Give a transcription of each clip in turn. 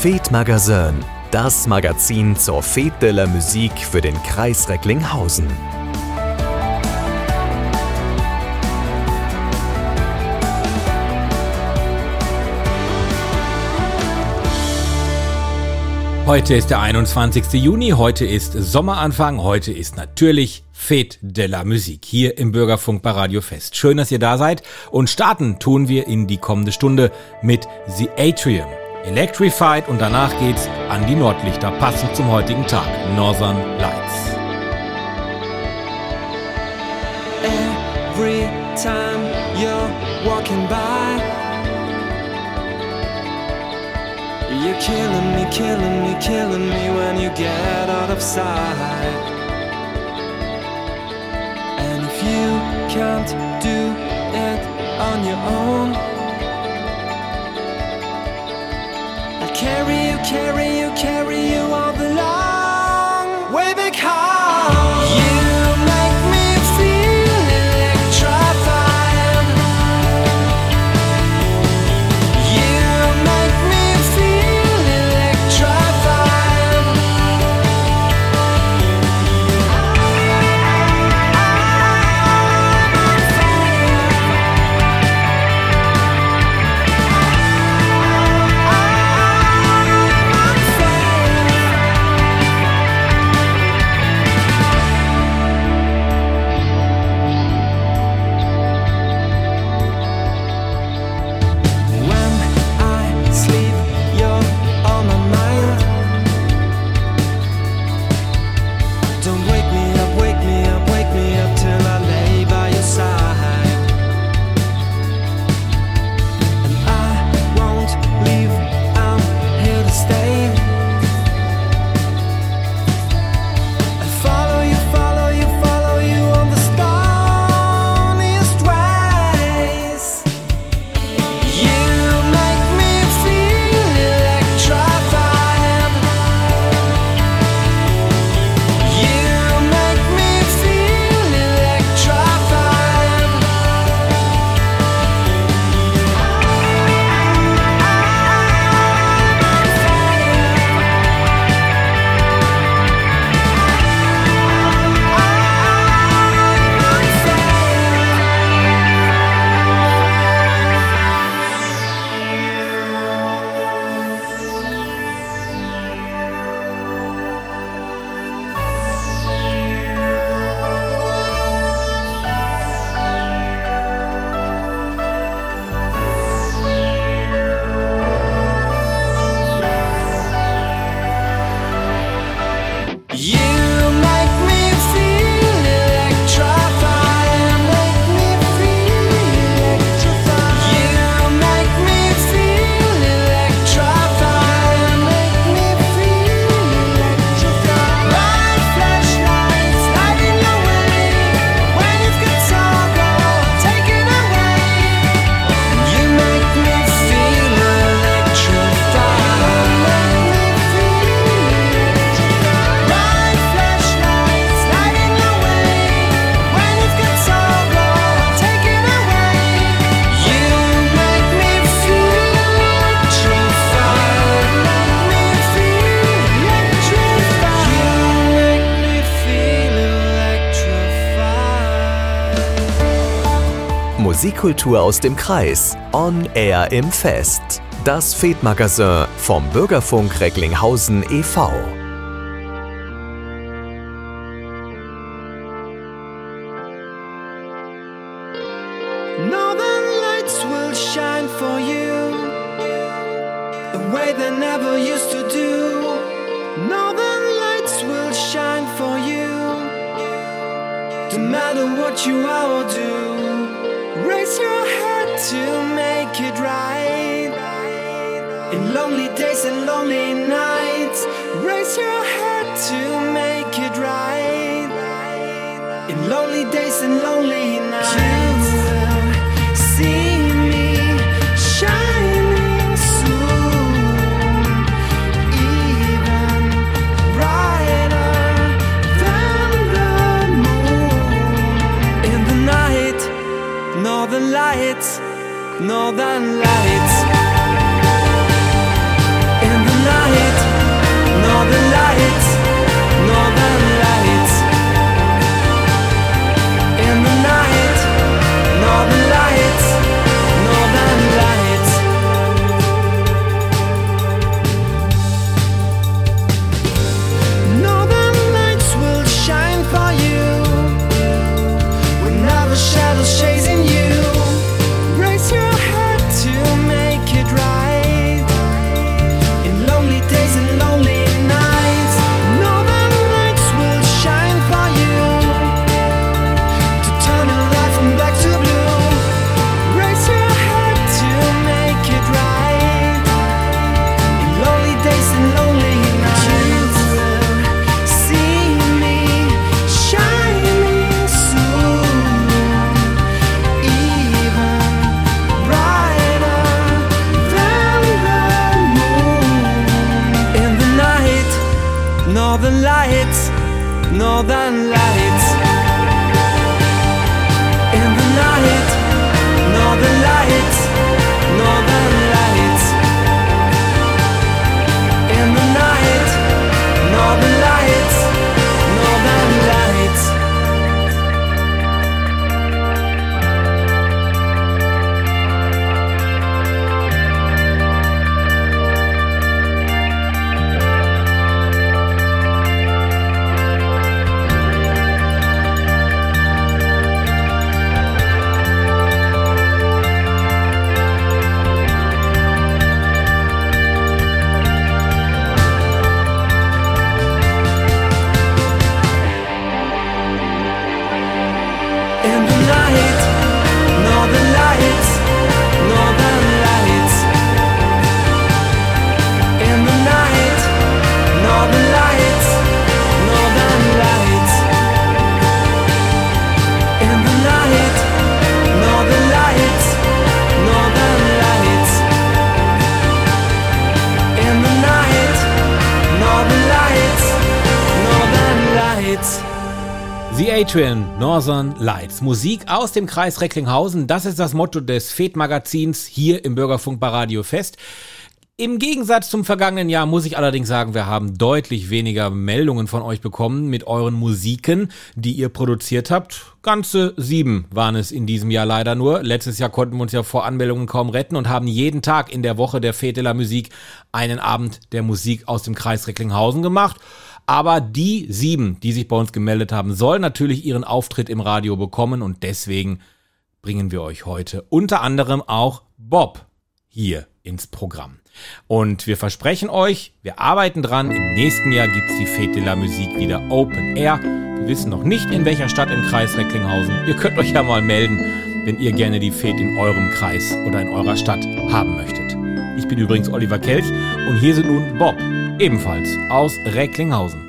Fête Magazin, das Magazin zur Fête de la Musique für den Kreis Recklinghausen. Heute ist der 21. Juni, heute ist Sommeranfang, heute ist natürlich Fête de la Musique hier im Bürgerfunk bei Radio Fest. Schön, dass ihr da seid und starten tun wir in die kommende Stunde mit The Atrium, Electrified und danach geht's an die Nordlichter, passend zum heutigen Tag, Northern Lights. Every time you're walking by, you're killing me, killing me, killing me when you get out of sight. And if you can't do it on your own, I'll carry you, carry you, carry you all the long way back home. You make me feel electrified. You make me feel electrified. Musikkultur aus dem Kreis, on air im Fest. Das Fête Magazin vom Bürgerfunk Recklinghausen e.V. Northern lights will shine for you a way they never used to do. Northern lights will shine for you, no matter what you are or do. Raise your head to make it right. In lonely days and lonely nights, raise your head to make it right. In lonely days and lonely nights, you will see me shining soon, even brighter than the moon. In the night, northern lights, northern lights. In the night. northern lights. In the night, northern lights, northern lights. In the night, northern lights, northern lights. The Atrian, Northern Lights. Musik aus dem Kreis Recklinghausen, das ist das Motto des FET-Magazins hier im Bürgerfunk bei Radio Fest. Im Gegensatz zum vergangenen Jahr muss ich allerdings sagen, wir haben deutlich weniger Meldungen von euch bekommen mit euren Musiken, die ihr produziert habt. Ganze 7 waren es in diesem Jahr leider nur. Letztes Jahr konnten wir uns ja vor Anmeldungen kaum retten und haben jeden Tag in der Woche der Fete de la Musique einen Abend der Musik aus dem Kreis Recklinghausen gemacht. Aber die 7, die sich bei uns gemeldet haben, sollen natürlich ihren Auftritt im Radio bekommen und deswegen bringen wir euch heute unter anderem auch Bob hier ins Programm. Und wir versprechen euch, wir arbeiten dran, im nächsten Jahr gibt's die Fete de la Musique wieder Open Air. Wir wissen noch nicht, in welcher Stadt im Kreis Recklinghausen. Ihr könnt euch ja mal melden, wenn ihr gerne die Fete in eurem Kreis oder in eurer Stadt haben möchtet. Ich bin übrigens Oliver Kelch und hier sind nun Bob, ebenfalls aus Recklinghausen.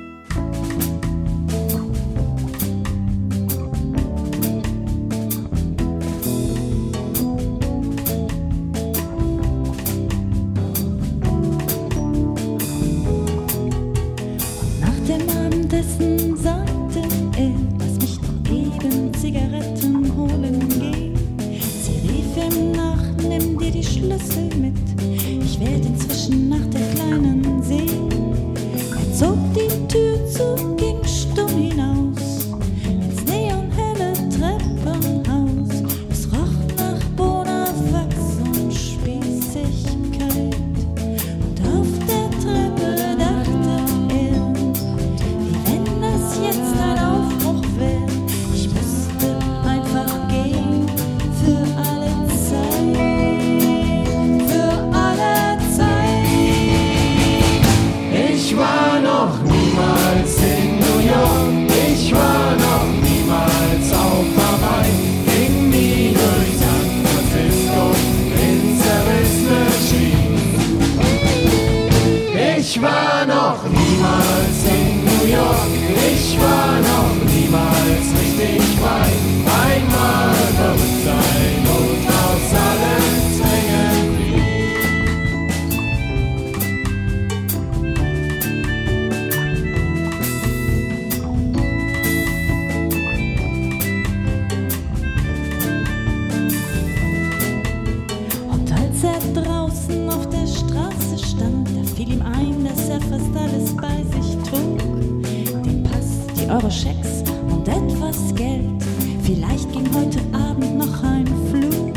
Schecks und etwas Geld. Vielleicht ging heute Abend noch ein Flug.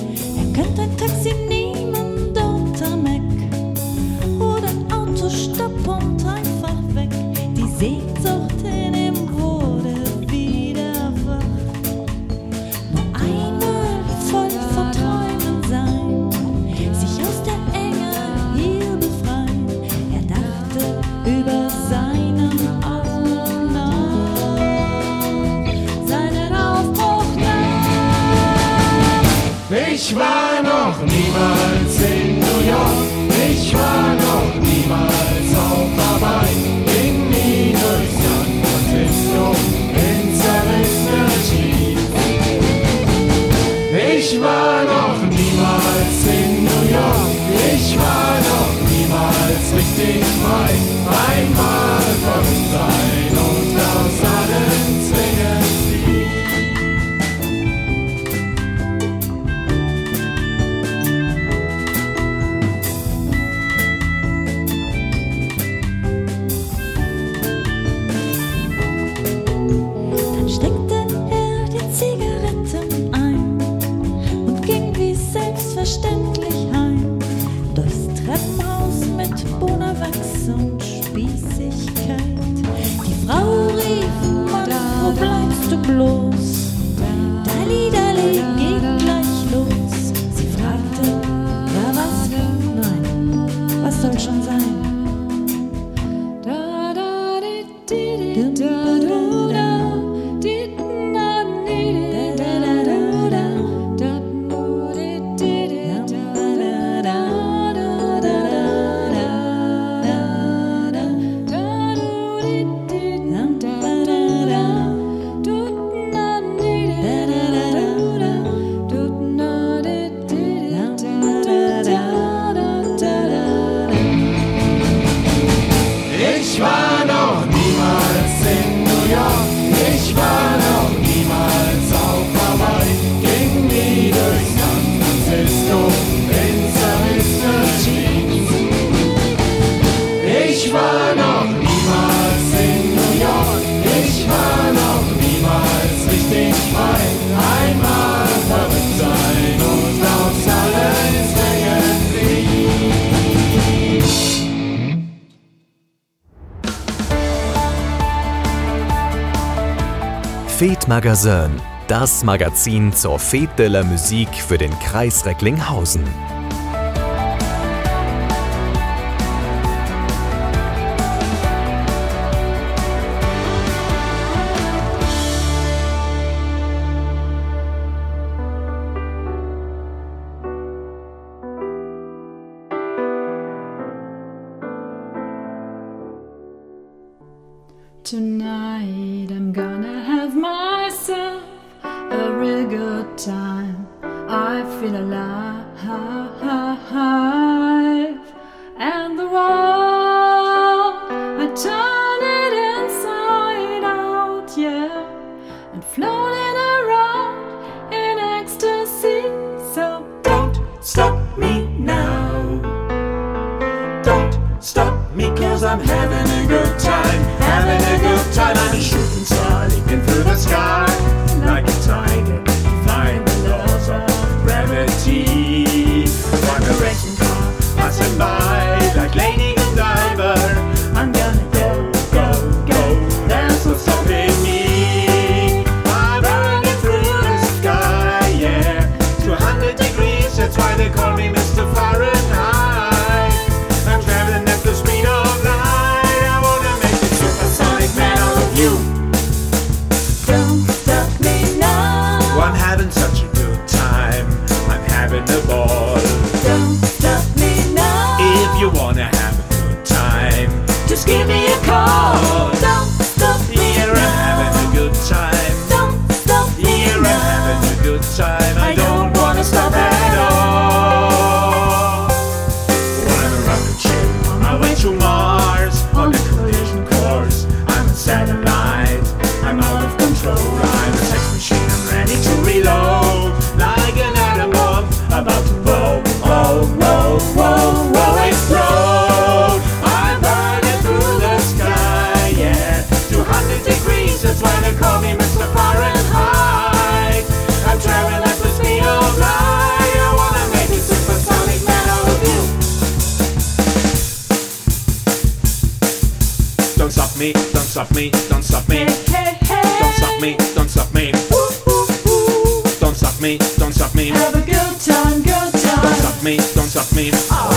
Er könnte ein Taxi nehmen dort am Eck oder ein Auto stopp und einfach weg. Die Sehnsucht in ihm wurde wieder wach. Nur einmal voll von Träumen sein, sich aus der Enge hier befreien. Er dachte über seinen Ich war noch niemals in New York, ich war noch niemals auf Hawaii, ging nie durch San Francisco in zerrissene Jeans. Ich war noch niemals in New York, ich war noch niemals richtig frei, einmal verrückt sein und aus selbstverständlich heim. Durchs Treppenhaus mit Bonawachs und Spießigkeit. Die Frau rief, Mann, wo bleibst du bloß? Dalli, Dalli, geht gleich los. Sie fragte, war was? Nein, was soll schon sein? Fête Magazin, das Magazin zur Fête de la Musique für den Kreis Recklinghausen. Tonight I'm gonna have myself a real good time. I feel alive, and the world, I turn it inside out, yeah, and floating around in ecstasy. So don't stop me now. Don't stop me 'cause I'm having a good time. Having a good time, I'm a shooting star leaping through the sky like a tiger, defying the laws of gravity. I'm a racing car passing by like Lady Godiva. I'm gonna go, go, go, there's no stopping me. I'm running through the sky, yeah, 200 degrees, that's why they call me Mr. Fahrenheit. I'm traveling at the speed of light, I wanna make it supersonic man out of you. Don't stop me now. I'm having such a good time, I'm having a ball. Don't stop me now. If you wanna have a good time, just give me a call. Don't stop me now. Here I'm having a good time. Don't stop me now. Here I'm having a good time. I don't wanna stop at all. I'm a rocket ship on my way to Mars, on the collision course. I'm a satellite, I'm out of control. I'm a sex machine, I'm ready to reload. Like an atom bomb, about to blow. Oh, whoa, whoa, whoa, explode. I'm burning through the sky, yeah, 200 degrees, that's why they call me Mr. Fahrenheit. I'm traveling at the speed of light, I wanna make it supersonic man out of you. Don't stop me, don't stop me, don't stop me. Don't stop me, don't stop me. Don't stop me, don't stop me. Have a good time, good time. Don't stop me, don't stop me.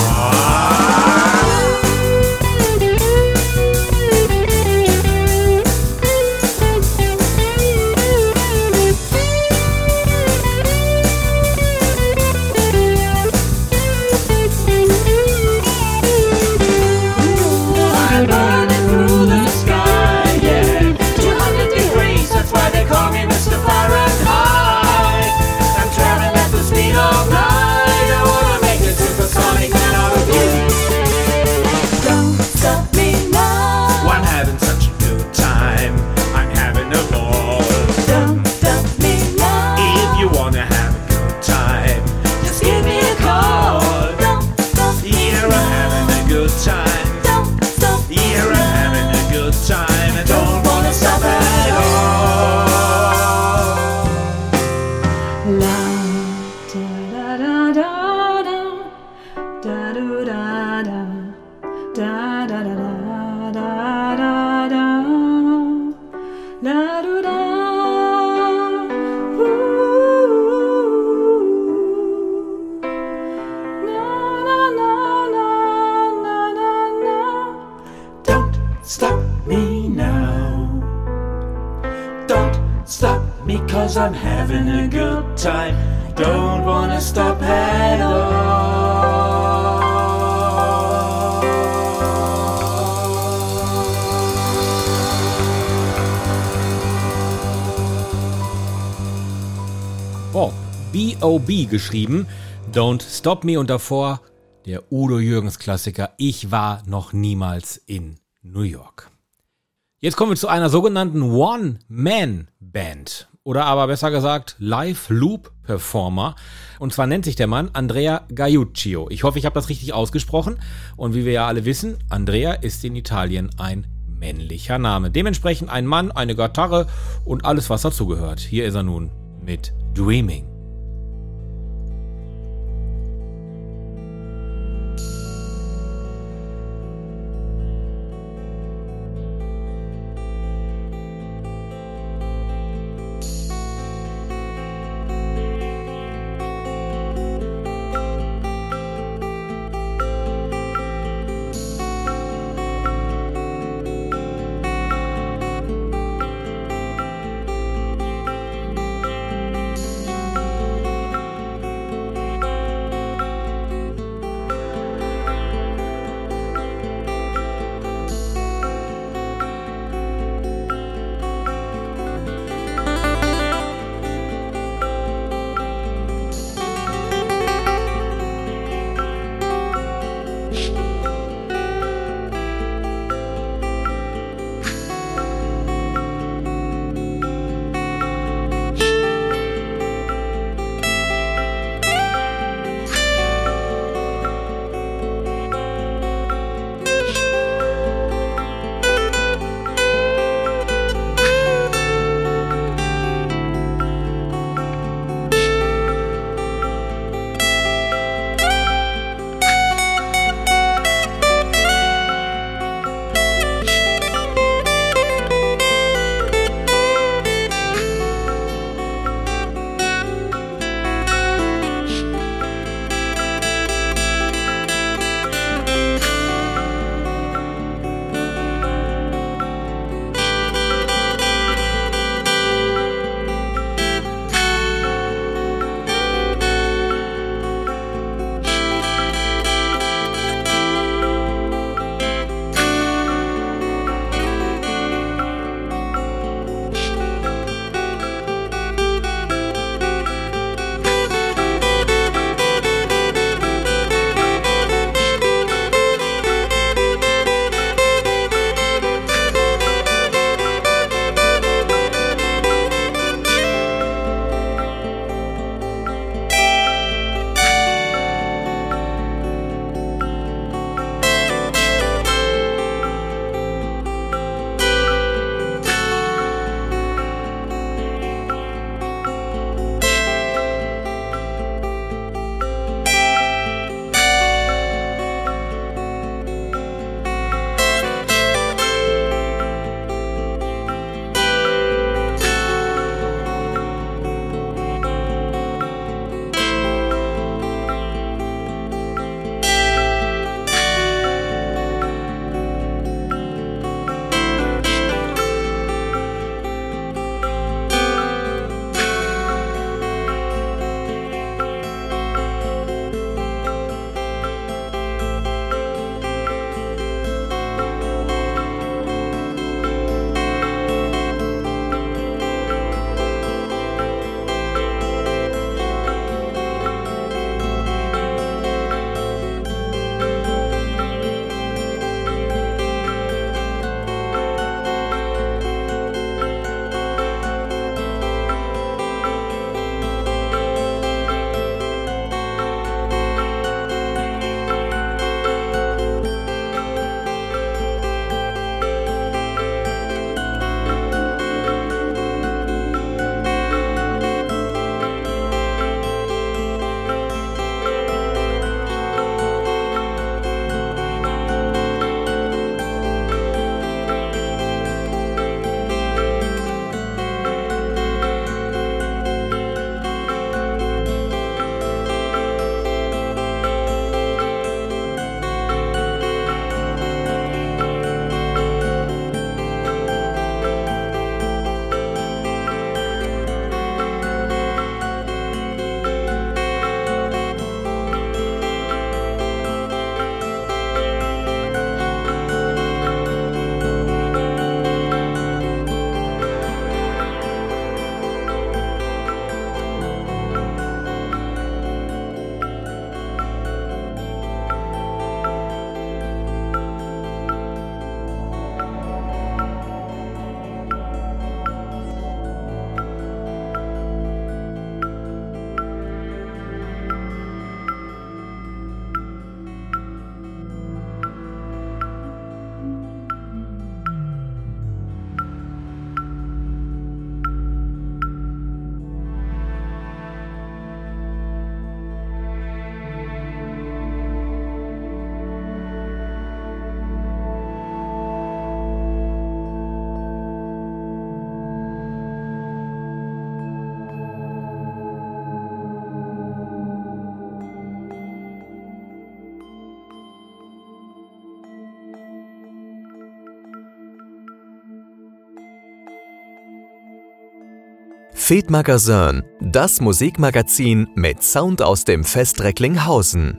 I'm burning through the sky, yeah, 200 degrees, that's why they call me Mr. Fahrenheit. I'm traveling at the speed of light, I wanna make it supersonic man stop me now. Don't stop me 'cause I'm having a good time. Don't wanna stop at all. Bob, B.O.B. geschrieben, Don't Stop Me und davor der Udo Jürgens Klassiker Ich war noch niemals in New York. Jetzt kommen wir zu einer sogenannten One-Man-Band oder aber besser gesagt Live-Loop-Performer und zwar nennt sich der Mann Andrea Gaiuccio. Ich hoffe, ich habe das richtig ausgesprochen und wie wir ja alle wissen, Andrea ist in Italien ein männlicher Name. Dementsprechend ein Mann, eine Gitarre und alles, was dazugehört. Hier ist er nun mit Dreaming. Fed-Magazin, das Musikmagazin mit Sound aus dem Fest Recklinghausen.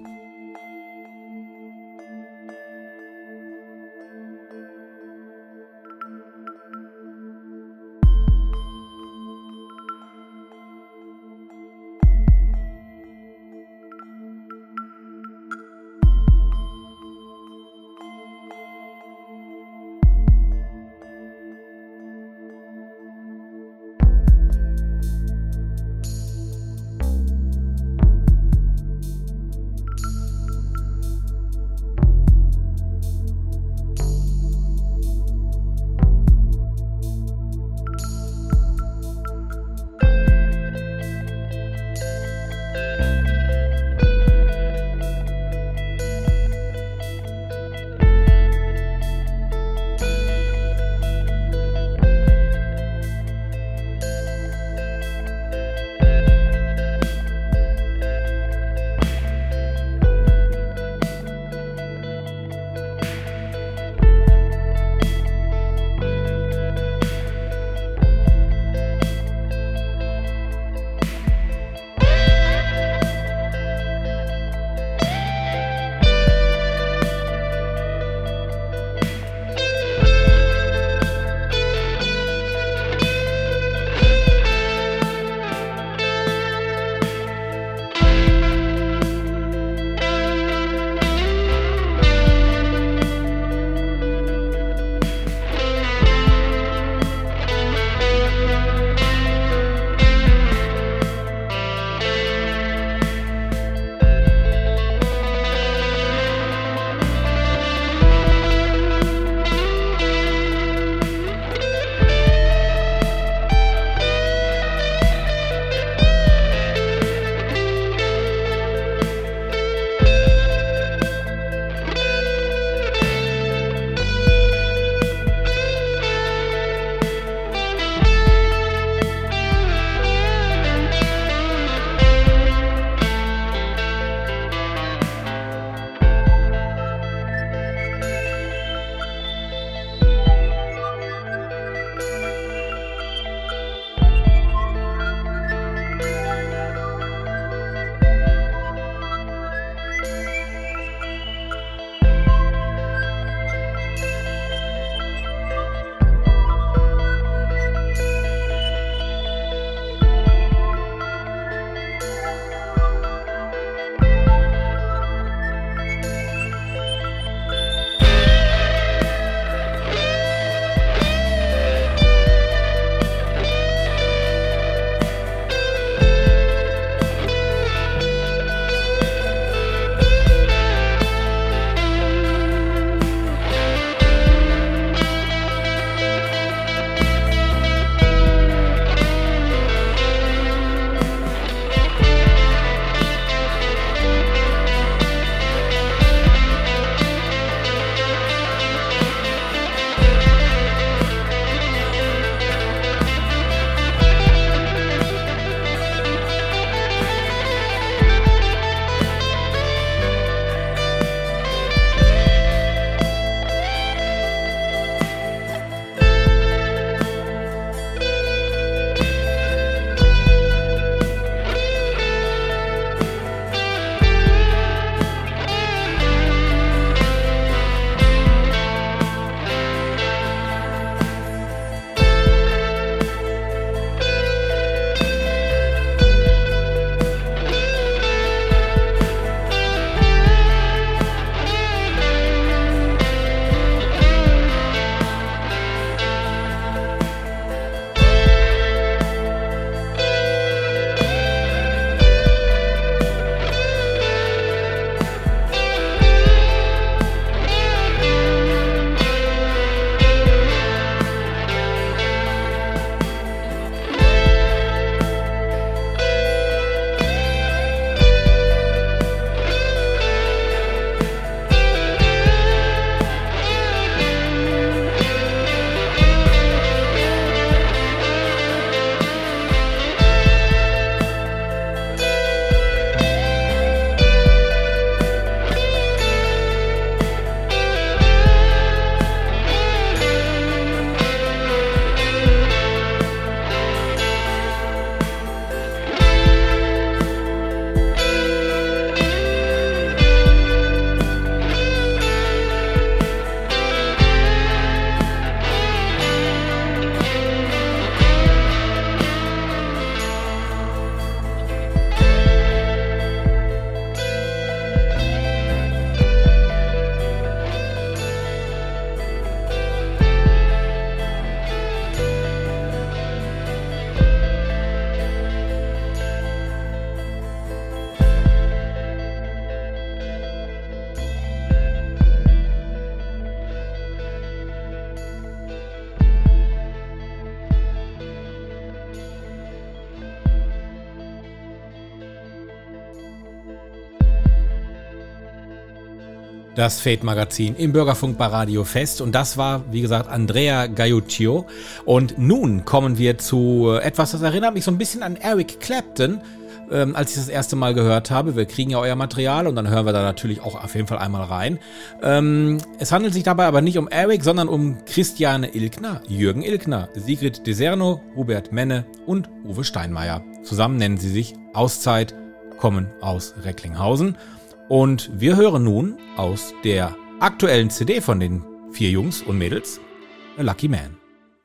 Das Fate-Magazin im Bürgerfunk bei Radio Fest. Und das war, wie gesagt, Andrea Gaiuccio. Und nun kommen wir zu etwas, das erinnert mich so ein bisschen an Eric Clapton, als ich das erste Mal gehört habe. Wir kriegen ja euer Material und dann hören wir da natürlich auch auf jeden Fall einmal rein. Es handelt sich dabei aber nicht um Eric, sondern um Christiane Ilkner, Jürgen Ilkner, Sigrid Deserno, Hubert Menne und Uwe Steinmeier. Zusammen nennen sie sich Auszeit, kommen aus Recklinghausen. Und wir hören nun aus der aktuellen CD von den 4 Jungs und Mädels, A Lucky Man.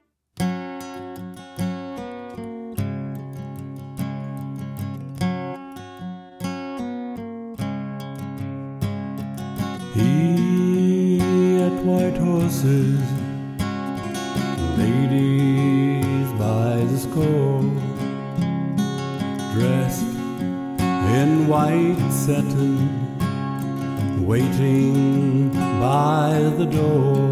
He had white horses, ladies by the score, dressed in white satin, waiting by the door.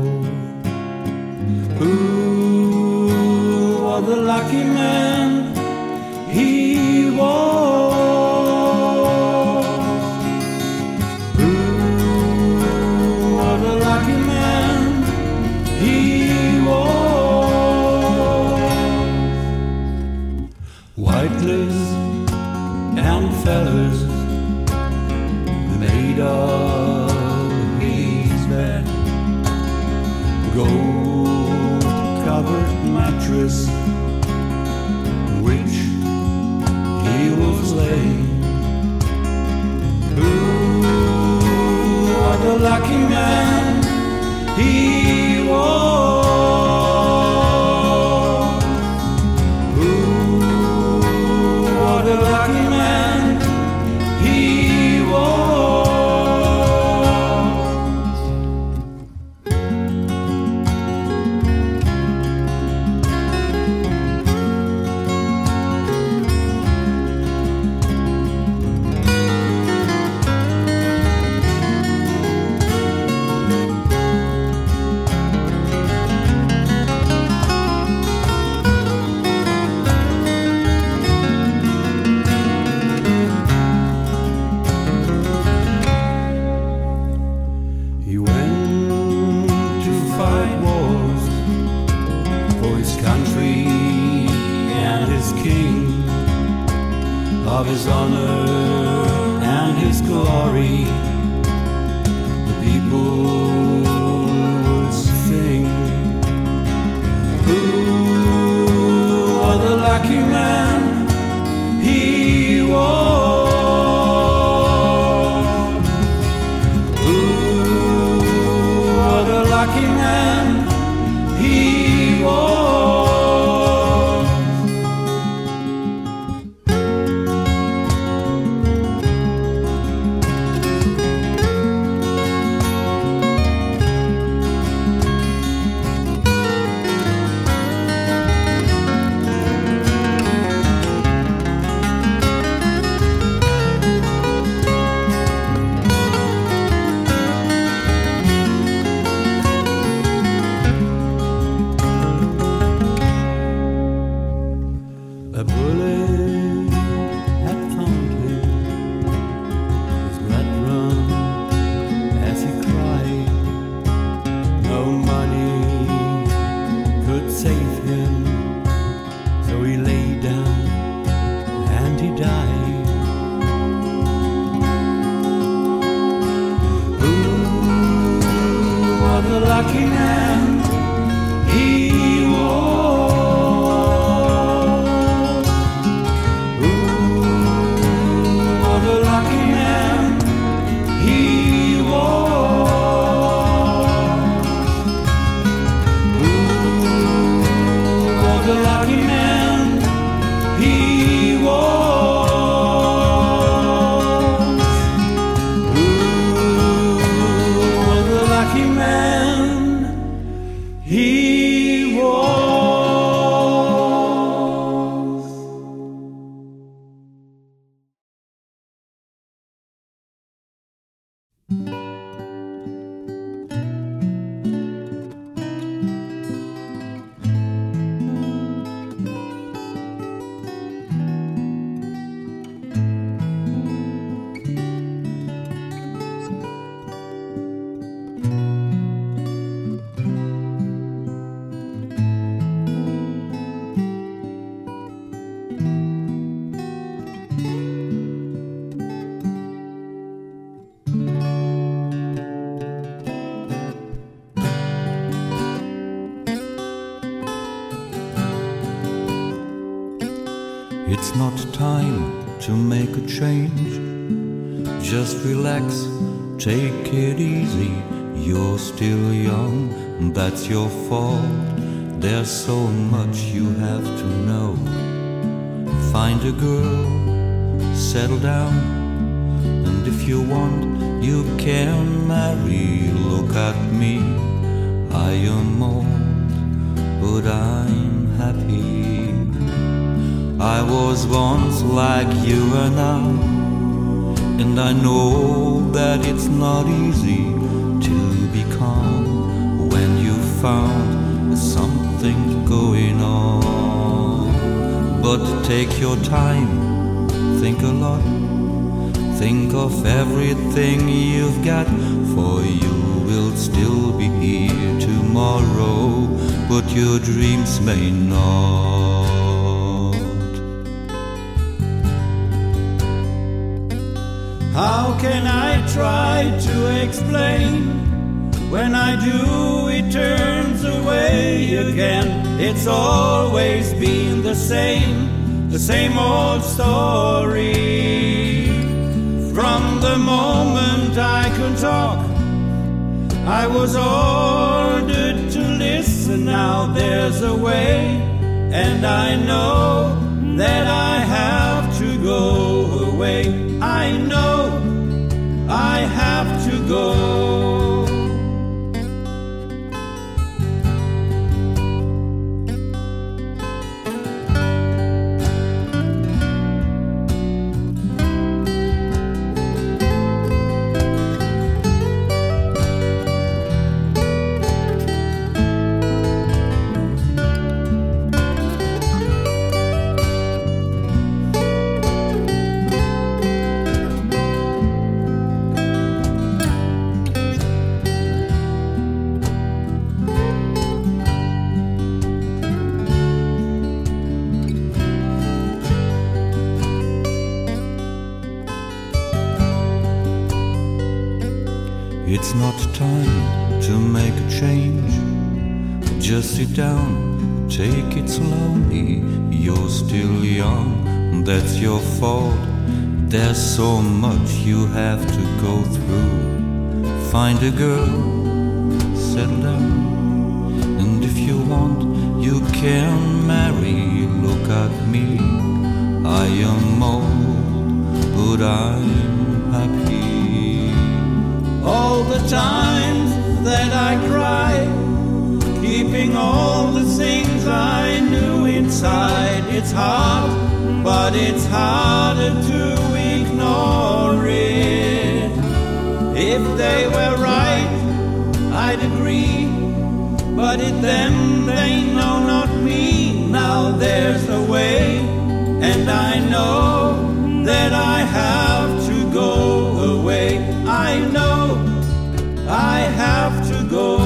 Who was the lucky man he was? Who was the lucky man he was? White lace and feathers made of his bed, gold-covered mattress which he was laying. Who was the lucky man he was? Who was the lucky man he was? He went to fight wars for his country and his king, of his honor and his glory. The people would sing. Who was the lucky man he was? Who was the lucky man he was? A bullet had found him, his blood run as he cried. No money could save him, so he lay down and he died. Who was the lucky man he was? The lucky man he was. Who was the lucky man he was? Who was the lucky man he was? It's not time to make a change. Just relax, take it easy. You're still young, that's your fault. There's so much you have to know. Find a girl, settle down, and if you want, you can marry. Look at me, I am old, but I'm happy. I was once like you are now, and I know that it's not easy to be calm when you found something going on. But take your time, think a lot, think of everything you've got, for you will still be here tomorrow, but your dreams may not. How can I try to explain? When I do, it turns away again. It's always been the same old story. From the moment I could talk, I was ordered to listen. Now there's a way, and I know that I have to go away. I know I have to go. It's not time to make a change. Just sit down, take it slowly. You're still young, that's your fault. There's so much you have to go through. Find a girl, settle down, and if you want, you can marry. Look at me, I am old, but I'm happy. All the times that I cried, keeping all the things I knew inside. It's hard, but it's harder to ignore it. If they were right, I'd agree, but it them, they know not me. Now there's a way, and I know that I have to go away. I know I have to go.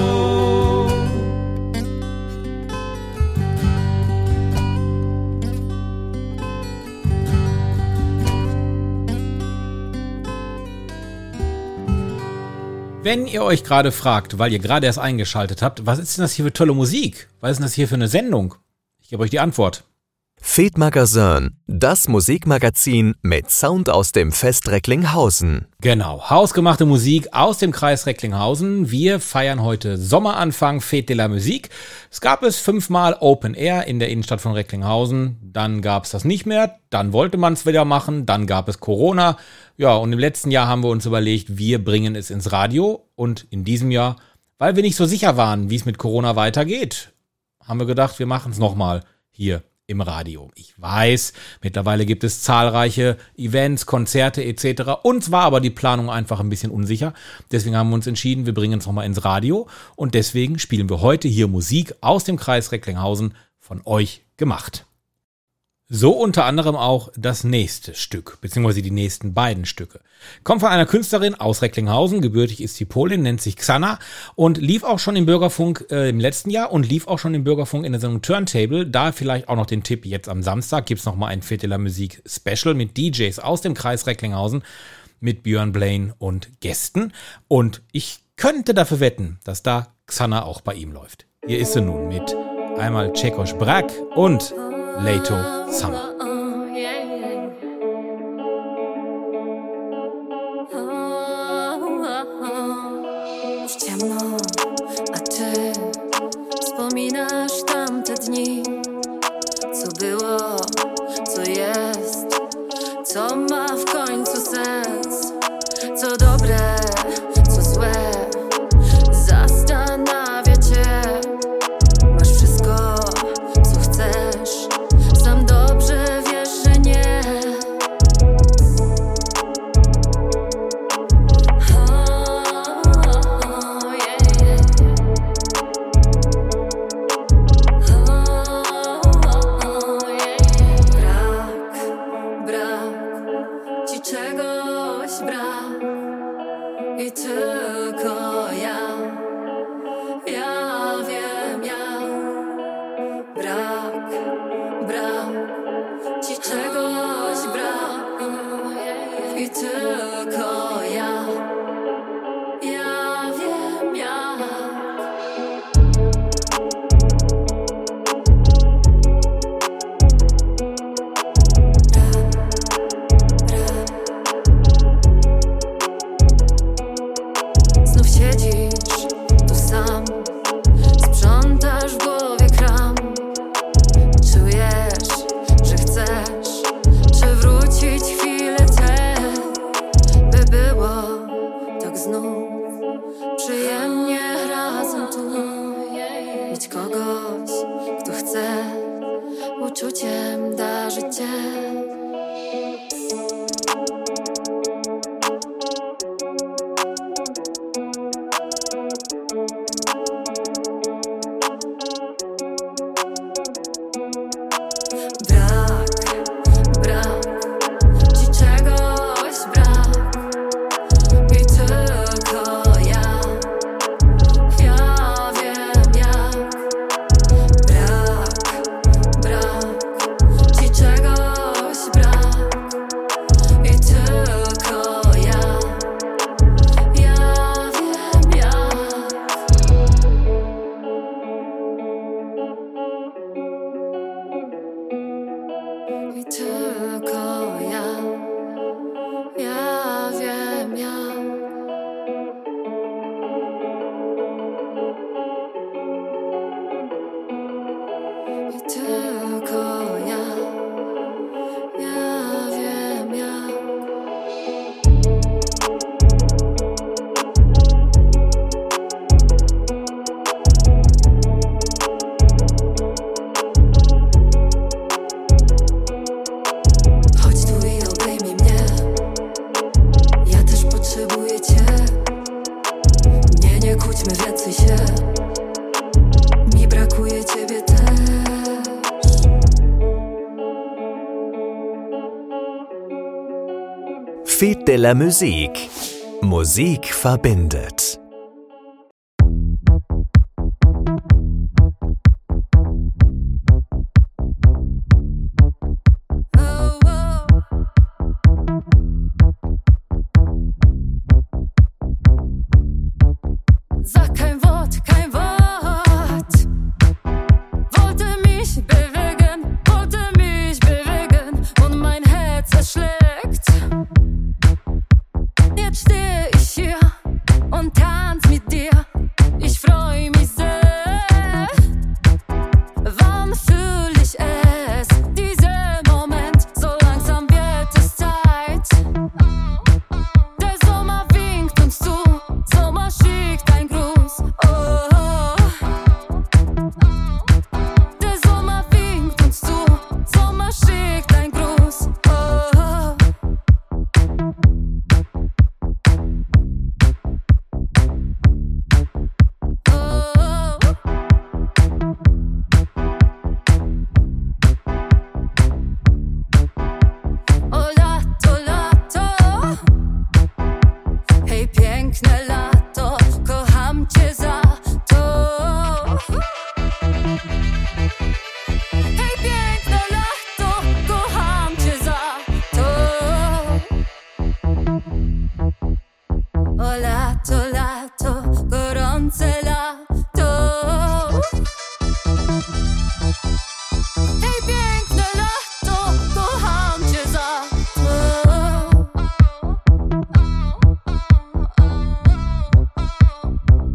Wenn ihr euch gerade fragt, weil ihr gerade erst eingeschaltet habt, was ist denn das hier für tolle Musik? Was ist denn das hier für eine Sendung? Ich gebe euch die Antwort. Fedmagazin, das Musikmagazin mit Sound aus dem Fest Recklinghausen. Genau, hausgemachte Musik aus dem Kreis Recklinghausen. Wir feiern heute Sommeranfang, Fête de la Musique. Es gab es 5-mal Open Air in der Innenstadt von Recklinghausen. Dann gab es das nicht mehr, dann wollte man es wieder machen, dann gab es Corona. Ja, und im letzten Jahr haben wir uns überlegt, wir bringen es ins Radio. Und in diesem Jahr, weil wir nicht so sicher waren, wie es mit Corona weitergeht, haben wir gedacht, wir machen es nochmal hier im Radio. Ich weiß, mittlerweile gibt es zahlreiche Events, Konzerte etc. Uns war aber die Planung einfach ein bisschen unsicher. Deswegen haben wir uns entschieden, wir bringen es nochmal ins Radio. Und deswegen spielen wir heute hier Musik aus dem Kreis Recklinghausen von euch gemacht. So unter anderem auch das nächste Stück, beziehungsweise die nächsten beiden Stücke. Kommt von einer Künstlerin aus Recklinghausen, gebürtig ist sie Polin, nennt sich Xana und lief auch schon im Bürgerfunk im letzten Jahr und lief auch schon im Bürgerfunk in der Sendung Turntable. Da vielleicht auch noch den Tipp, jetzt am Samstag gibt's noch mal ein Fête de la Musique Special mit DJs aus dem Kreis Recklinghausen, mit Björn Blaine und Gästen. Und ich könnte dafür wetten, dass da Xana auch bei ihm läuft. Hier ist sie nun mit einmal Czekos Brak und Lato Summer. Yeah. wciąż ciemno, a ty wspominasz tamte dni. Co było, co jest, co ma w końcu sens. Co dobre, co złe, zastanawia cię. Masz wszystko, co chcesz, sam dobrze wiesz, że nie. I tylko ja wiem jak. Brak, ci czegoś brak. I tylko ja wiem jak. Siedzisz tu sam, sprzątasz w głowie kram. Czujesz, że chcesz przewrócić chwilę tę, by było tak znów przyjemnie razem tu. Mieć kogoś, kto chce uczuciem darzyć cię. Brak, ci czegoś brak. I tylko ja wiem jak. Brak, ci czegoś brak. I tylko ja wiem jak. I tylko ja wiem jak. I tylko ja wiem jak. Chodź tu i obejmij mnie, ja też potrzebuję cię. Nie kłóćmy więcej się, mi brakuje ciebie też. Fête de la Musique. Musik verbindet. Sag kein Wort, kein Wort. Wollte mich bewegen und mein Herz erschlägt. Jetzt steh ich hier und tanz mit dir. Ich freu mich sehr. Wann fühl ich es? Dieser Moment, so langsam wird es Zeit. Der Sommer winkt uns zu, Sommer schickt ein Gruß. Oh. Der Sommer winkt uns zu, Sommer schickt ein Gruß. Oh. O lato, lato, hej piękne lato, kocham cię za to. Hej piękne lato, kocham cię za to. O lato, lato, gorące lato. Hej piękne lato, kocham cię za to.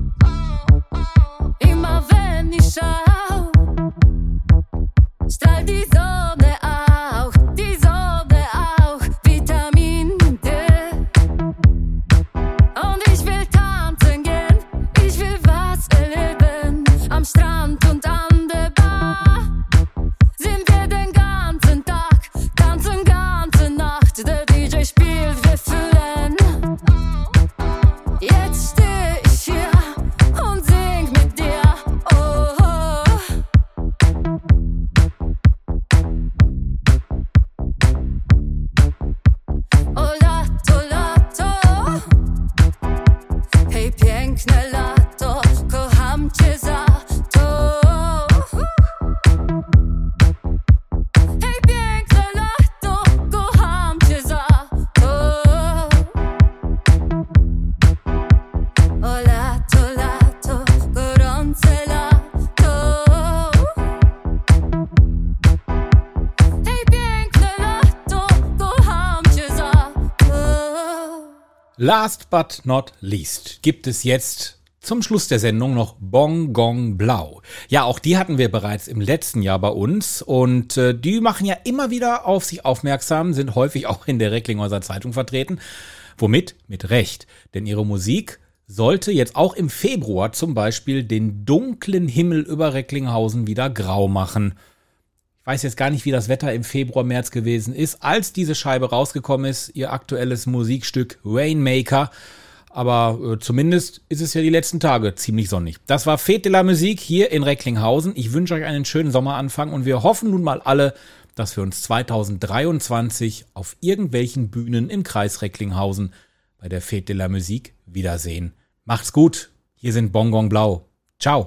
Last but not least gibt es jetzt zum Schluss der Sendung noch Bong Gong Blau. Ja, auch die hatten wir bereits im letzten Jahr bei uns und die machen ja immer wieder auf sich aufmerksam, sind häufig auch in der Recklinghäuser Zeitung vertreten. Womit? Mit Recht. Denn ihre Musik sollte jetzt auch im Februar zum Beispiel den dunklen Himmel über Recklinghausen wieder grau machen. Ich weiß jetzt gar nicht, wie das Wetter im Februar, März gewesen ist, als diese Scheibe rausgekommen ist, ihr aktuelles Musikstück Rainmaker. Aber zumindest ist es ja die letzten Tage ziemlich sonnig. Das war Fête de la Musique hier in Recklinghausen. Ich wünsche euch einen schönen Sommeranfang und wir hoffen nun mal alle, dass wir uns 2023 auf irgendwelchen Bühnen im Kreis Recklinghausen bei der Fête de la Musique wiedersehen. Macht's gut. Hier sind Bong Gong Blau. Ciao.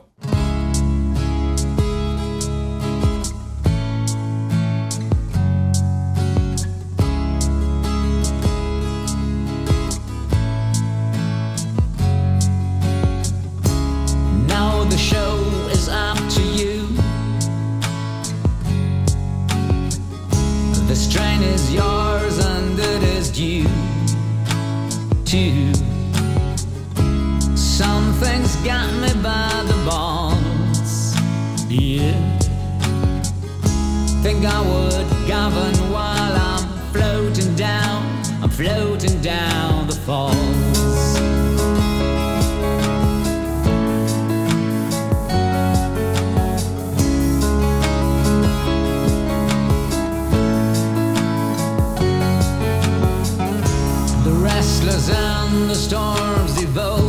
Got me by the balls, yeah. Think I would govern while I'm floating down the falls. The restless and the storms they vote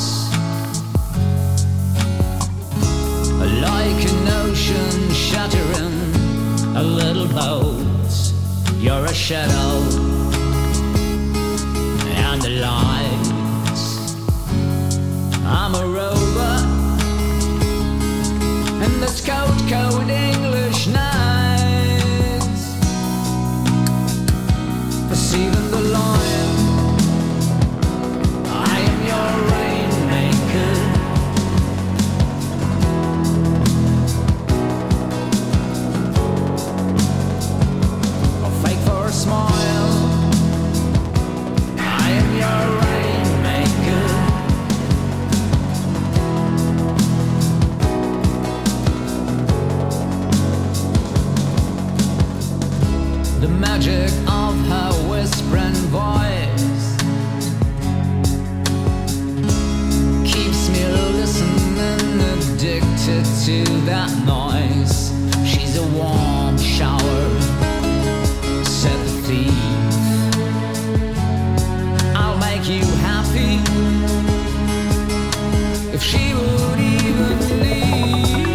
like an ocean shattering a little boat. You're a shadow and the lights. I'm a rover in this cold English nights. Perceiving the lion, I am your rainmaker. Smile, I am your rainmaker. The magic of her whispering voice keeps me listening, addicted to that noise. She's a warm shower, said the thief. I'll make you happy if she would even leave.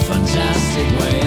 fantastic way.